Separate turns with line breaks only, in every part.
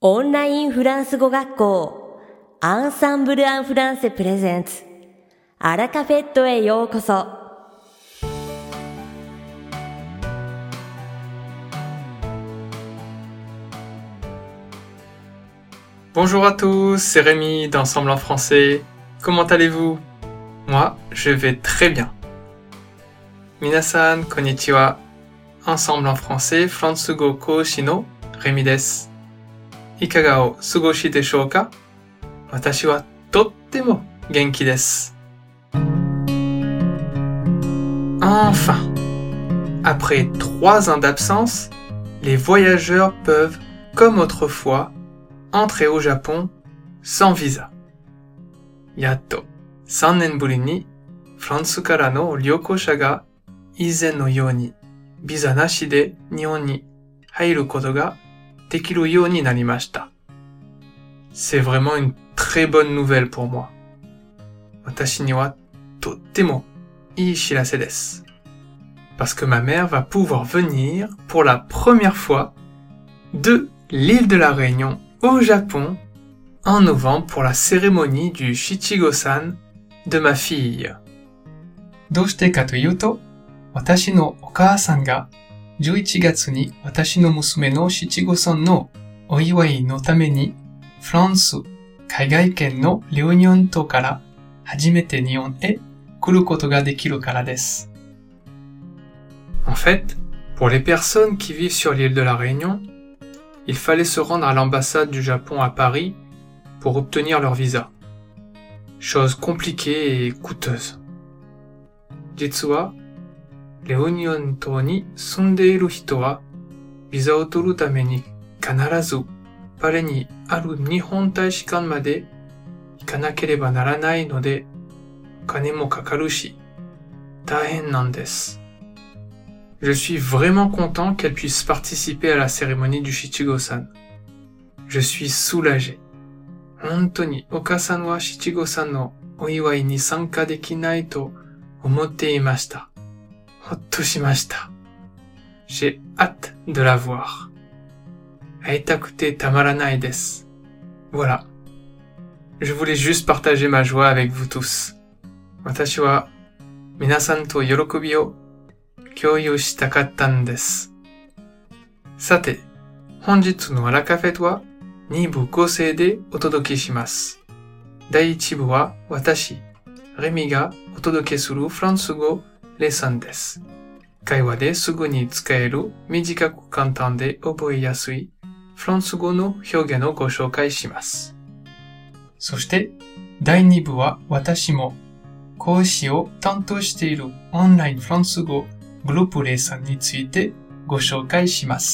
オンラインフランス語学校アンサンブル・アン・フランセプレゼンツアラカフェットへようこそ。
Bonjour à tous, c'est Rémi d'Ensemble en français. Comment allez-vous? Moi, je vais très bien. Minasan, konnichiwa. Ensemble en français, Fransugo Koushi no Rémi desu. Ikaga o sugoshi deshou ka? Watashi wa tottemo genki desu. Enfin! Après 3 ans d'absence, les voyageurs peuvent, comme autrefois, entrer au Japon sans visa. Yatto, 3年ぶりにフランスからの旅行者が以前のようにビザなしで日本に入ることができるようになりました。C'est vraiment une très bonne nouvelle pour moi. 私にはとってもいい知らせです。Parce que ma mère va pouvoir venir pour la première fois de l'île de la Réunion au Japon en novembre pour la cérémonie du Shichigo-san de ma fille. どうしてかというと、私のお母さんが11月に私の娘の七五三のお祝いのためにフランス海外圏のレオニオン島から初めて日本へ来ることができるからです。En fait, pour les personnes qui vivent sur l'île de la Réunion, il fallait se rendre à l'ambassade du Japon à Paris pour obtenir leur visa. Chose compliquée et coûteuse. 実は、レオニオン島に住んでいる人は、ビザを取るために必ずパリにある日本大使館まで行かなければならないので、お金もかかるし、大変なんです。Je suis vraiment content qu'elle puisse participer à la cérémonie du Shichigo-san. Je suis soulagé. 本当にお母さんはShichigo-sanのお祝いに参加できないと思っていました。ほっとしました。J'ai hâte de la voir. 会いたくてたまらないです。Voilà. Je voulais juste partager ma joie avec vous tous. 私は皆さんと喜びを共有したかったんです。さて、本日のアラカフェは2部構成でお届けします。第1部は私、レミがお届けするフランス語レッスンです。会話ですぐに使える短く簡単で覚えやすいフランス語の表現をご紹介します。そして第2部は私も講師を担当しているオンラインフランス語グループレッスンについてご紹介します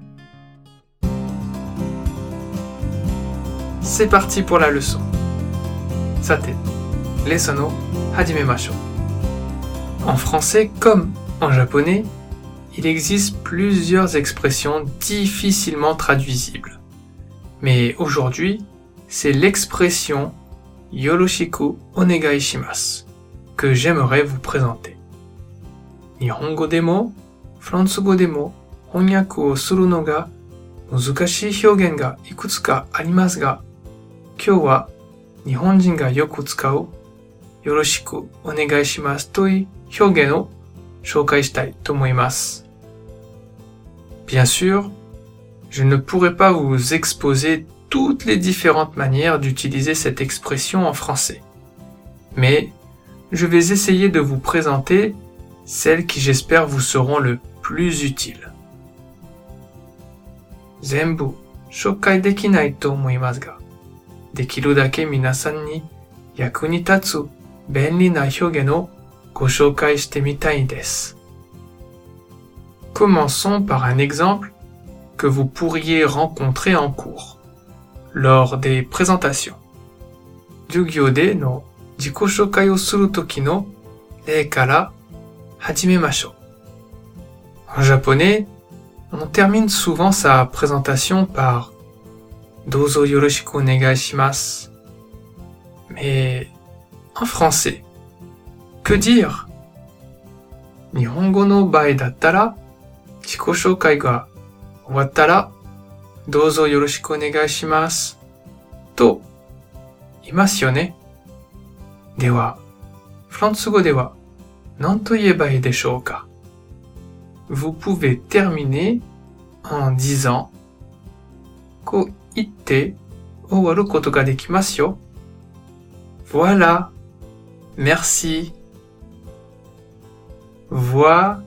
。C'est parti pour la leçon. さて、レッスンを始めましょう。En français comme en japonais, il existe plusieurs expressions difficilement traduisibles. Mais aujourd'hui, c'est l'expression yoroshiku onegai shimasu que j'aimerais vous présenter. 日本語でもフランス語でも翻訳をするのが難しい表現がいくつかありますが、今日は日本人がよく使うよろしくお願いしますという表現を紹介したいと思います。Bien sûr, je ne pourrai pas vous exposer toutes les différentes manières d'utiliser cette expression en français. Mais je vais essayer de vous présenter celles qui j'espère vous seront le plus utiles. 全部紹介できないと思いますが、できるだけ皆さんに役に立つ便利な表現をご紹介してみたいです。Commençons par un exemple que vous pourriez rencontrer en cours, lors des présentations. 授業での自己紹介をするときの例から始めましょう。En japonais, on termine souvent sa présentation par どうぞよろしくお願いします。Mais en français, que dire? 日本語の場合だったら、自己紹介が終わったら、 どうぞよろしくお願いします。と言いますよね。では、フランス語では何と言えばいいでしょうか? Vous pouvez terminer en disant こう言って終わることができますよ。Voilà, merci. Voilà,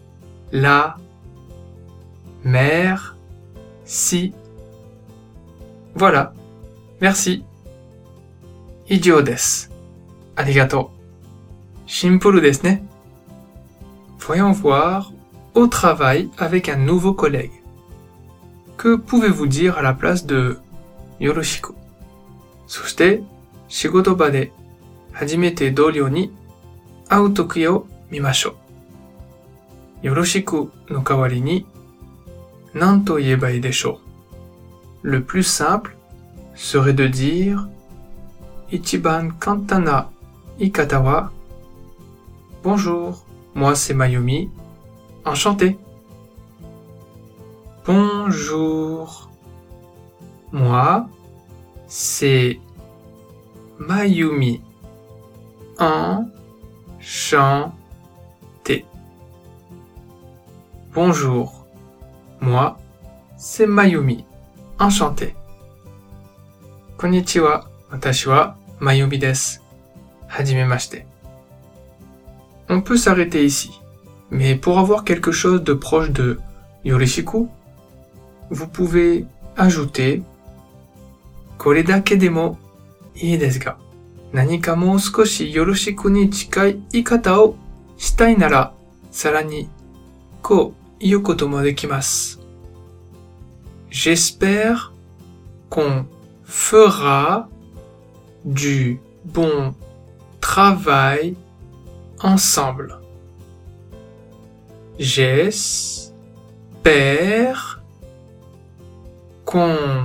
merci. Voilà, merci. 以上です。ありがとう。シンプルですね。Voyons voir au travail avec un nouveau collègue. Que pouvez-vous dire à la place de よろしく。そして、仕事場で初めて同僚に会うときを見ましょう。よろしくの代わりに何と言えばいいでしょう。Le plus simple serait de dire 一番簡単な言い方は Bonjour, moi c'est Mayumi, enchanté. Bonjour, moi c'est Mayumi, enchanté. Bonjour, moi c'est Mayumi, enchanté. Konnichiwa, watashi wa Mayumi desu. Hajimemashite. On peut s'arrêter ici, mais pour avoir quelque chose de proche de yorishiku, vous pouvez ajouter これだけでもいいですが、何かもう少しよろしくに近い言い方をしたいなら、さらにこう言うこともできます。J'espère qu'on fera du bon travail ensemble. J'espère qu'on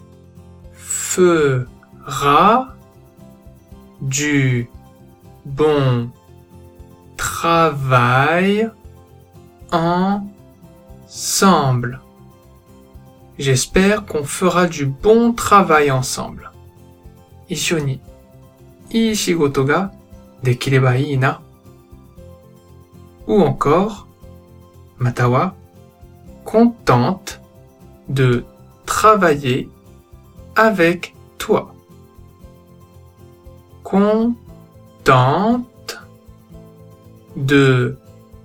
fera du bon travail ensemble. J'espère qu'on fera du bon travail ensemble. 一緒にいい仕事ができればいいな。Ou encore, または contente de travailler avec toi. Contente de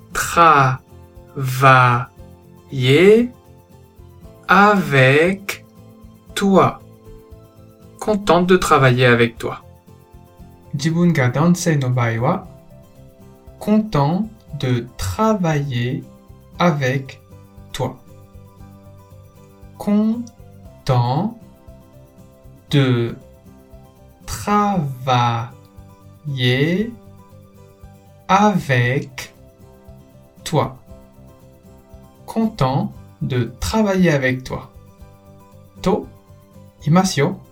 travailler avec toi. Contente de travailler avec toi. 自分が男性の場合は content de travailler avec toi. Content de travailler avec toi. Content de travailler avec toi. と言いますよ。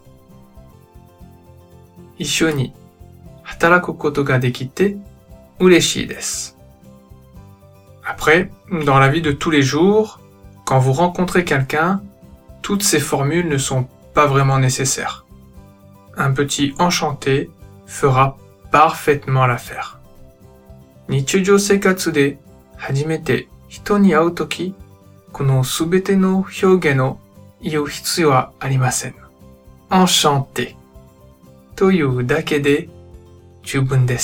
一緒に働くことができて嬉しいです。Après, dans la vie de tous les jours, quand vous rencontrez quelqu'un, toutes ces formules ne sont pas vraiment nécessaires. Un petit enchanté fera parfaitement l'affaire. 日常生活で初めて人に会うとき、このすべての表現を言う必要はありません。enchanté というだけで十分です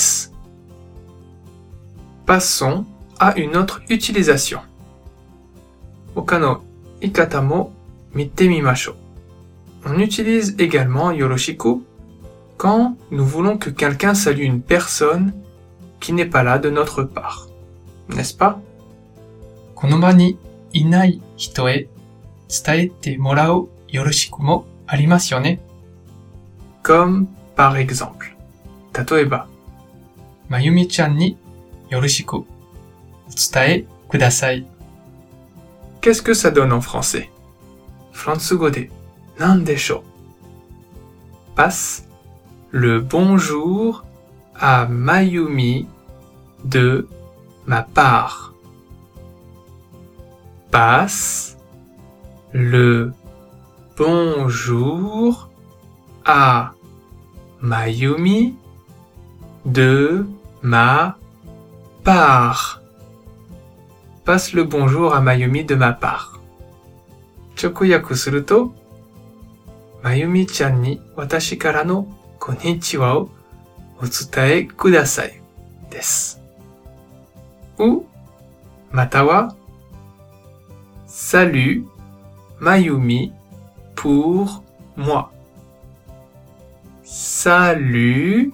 。Passons à une autre utilisation. 他の言い方も見てみましょう。On utilise également yoroshiku quand nous voulons que quelqu'un salue une personne qui n'est pas là de notre part. N'est-ce pas? この場にいない人へ伝えてもらうよろしくもありますよね。Comme par exemple. 例えば、まゆみちゃんによろしくお伝えください。Qu'est-ce que ça donne en français? フランス語で何でしょう? Passe le bonjour à Mayumi de ma part. Passe le bonjour à Mayumi de ma part. Passe le bonjour à Mayumi de ma part. 直訳すると、Mayumiちゃんに私からのこんにちはをお伝えくださいです。ou または Salut Mayumi pour moi. Salut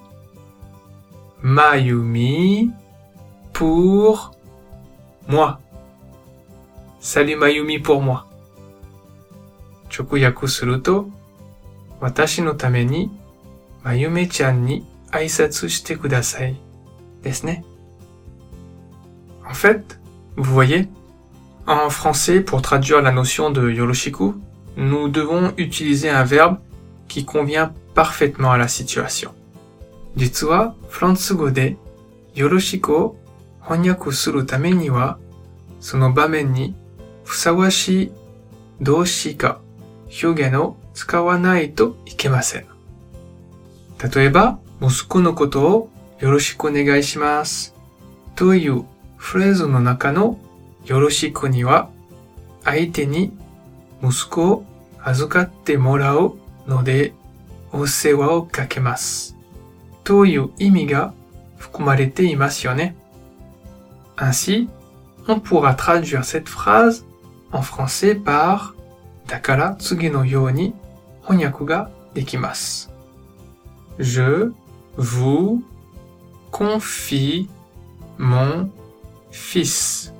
Mayumi pour moi. Salut Mayumi pour moi. 直訳すると、私のためにまゆめちゃんに挨拶してくださいですね。En fait, vous voyez, en français, pour traduire la notion de yoroshiku, nous devons utiliser un verbe qui convient parfaitement à la situation. 実は、フランス語で、よろしくを翻訳するためには、その場面にふさわしい動詞か表現を使わないといけません。例えば、息子のことをよろしくお願いしますというフレーズの中のよろしくには、相手に息子を預かってもらうのでお世話をかけますという意味が含まれていますよね。Ainsi, on pourra traduire cette phrase en français par だから次のように翻訳ができます。Je vous confie mon fils.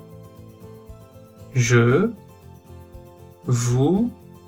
Je vous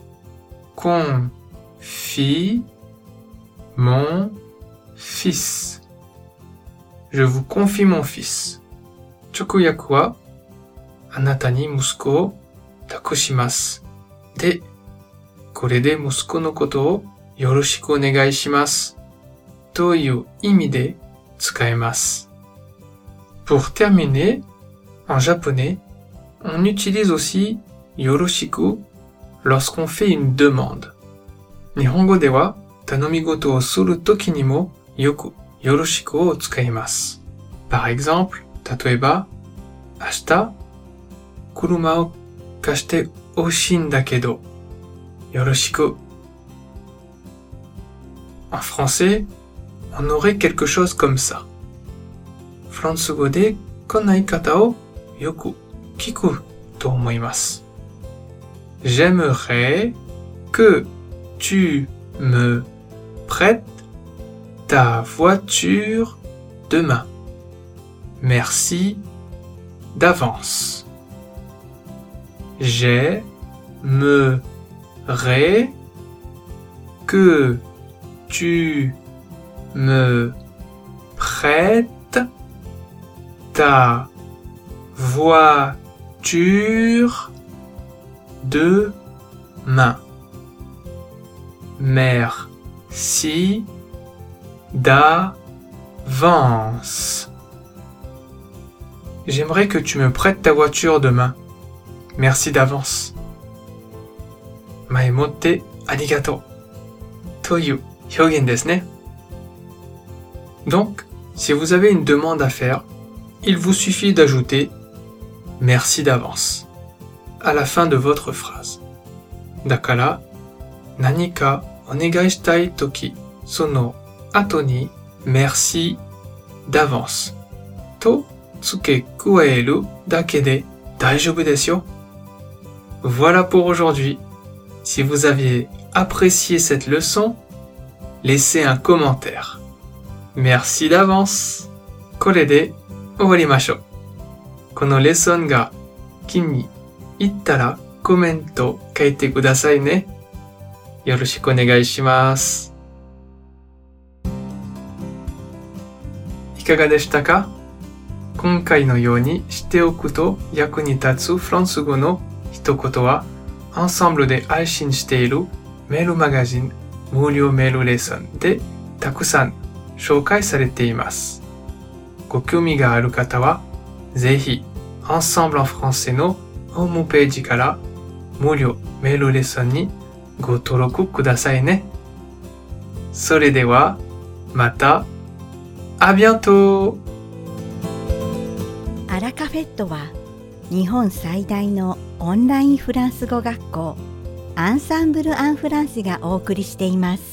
confie mon fils. Je vous confie mon fils. 直訳は、あなたに息子を託します。で、これで息子のことをよろしくお願いします。という意味で使えます。Pour terminer, en japonais, on utilise aussi yoroshiku lorsqu'on fait une demande. 日本語では頼み事をするときにもよくよろしくを使います。Par exemple, 例えば、明日、車を貸してほしいんだけど、よろしく。En français, on aurait quelque chose comme ça. フランス語でこんな言い方をよく聞くと思います。J'aimerais que tu me prêtes ta voiture demain. Merci d'avance. J'aimerais que tu me prêtes ta voiture demain. Merci d'avance. J'aimerais que tu me prêtes ta voiture demain. Merci d'avance. 前もってありがとうという表現ですね。Donc, si vous avez une demande à faire, il vous suffit d'ajouter merci d'avance à la fin de votre phrase. だから、何かお願いしたいとき、その後に merci d'avance と付け加えるだけで大丈夫ですよ。Voilà pour aujourd'hui. Si vous avez apprécié cette leçon, laissez un commentaire. Merci d'avance. これで終わりましょう。このレッスンが気に入ったらコメント書いてくださいね。よろしくお願いします。いかがでしたか？今回のようにしておくと役に立つフランス語の一言は、アンサンブルで配信しているメールマガジン無料メールレッスンでたくさん紹介されています。ご興味がある方は、ぜひ、Ensemble en français のホームページから無料メールレッスンにご登録くださいね。それでは、また、à bientôt!
アラカフェットは日本最大のオンラインフランス語学校アンサンブル・アン・フランセがお送りしています。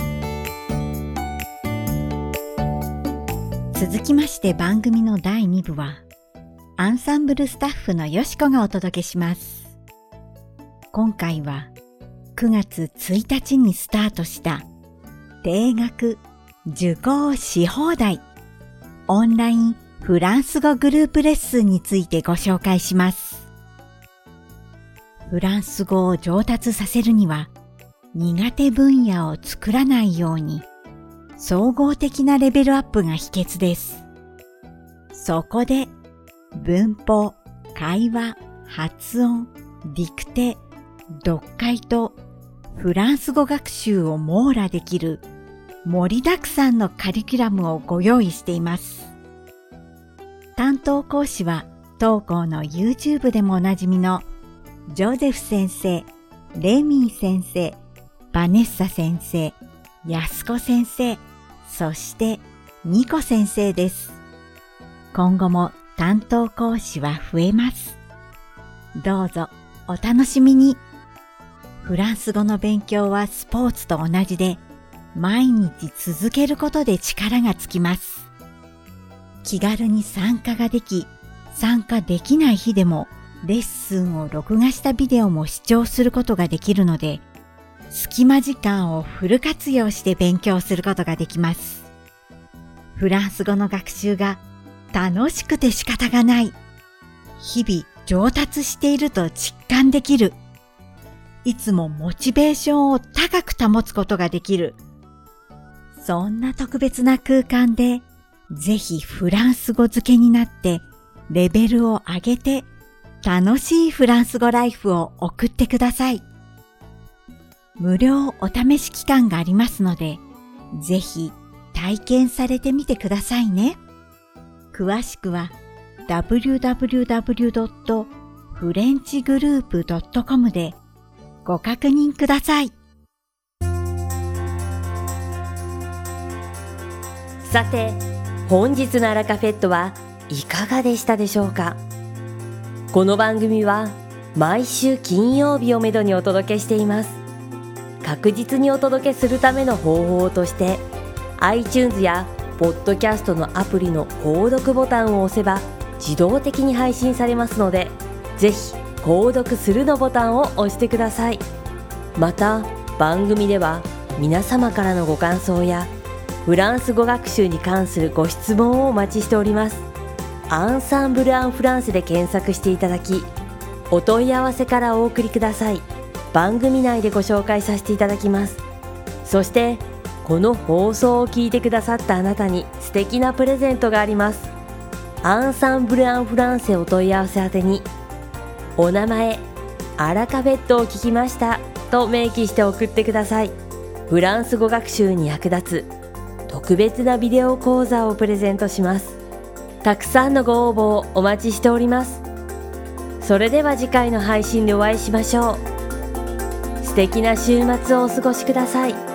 続きまして番組の第2部はアンサンブルスタッフのよしこがお届けします。今回は9月1日にスタートした定額受講し放題オンラインフランス語グループレッスンについてご紹介します。フランス語を上達させるには苦手分野を作らないように総合的なレベルアップが秘訣です。そこで文法、会話、発音、ディクテ、読解とフランス語学習を網羅できる盛りだくさんのカリキュラムをご用意しています。担当講師は当校の YouTube でもおなじみのジョゼフ先生、レミー先生、バネッサ先生、ヤスコ先生、そしてニコ先生です。今後も担当講師は増えます。どうぞお楽しみに。フランス語の勉強はスポーツと同じで、毎日続けることで力がつきます。気軽に参加ができ、参加できない日でもレッスンを録画したビデオも視聴することができるので、隙間時間をフル活用して勉強することができます。フランス語の学習が楽しくて仕方がない。日々上達していると実感できる。いつもモチベーションを高く保つことができる。そんな特別な空間で、ぜひフランス語漬けになってレベルを上げて楽しいフランス語ライフを送ってください。無料お試し期間がありますので、ぜひ体験されてみてくださいね。詳しくは www.frenchgroup.com でご確認ください。
さて、本日のアラカフェットはいかがでしたでしょうか。この番組は毎週金曜日をめどにお届けしています。確実にお届けするための方法として iTunes やポッドキャストのアプリの購読ボタンを押せば自動的に配信されますので、ぜひ購読するのボタンを押してください。また番組では皆様からのご感想やフランス語学習に関するご質問をお待ちしております。アンサンブル・アン・フランセで検索していただき、お問い合わせからお送りください。番組内でご紹介させていただきます。そしてこの放送を聞いてくださったあなたに素敵なプレゼントがあります。アンサンブル・アン・フランセお問い合わせ宛てに、お名前、アラカフェットを聞きましたと明記して送ってください。フランス語学習に役立つ特別なビデオ講座をプレゼントします。たくさんのご応募をお待ちしております。それでは次回の配信でお会いしましょう。素敵な週末をお過ごしください。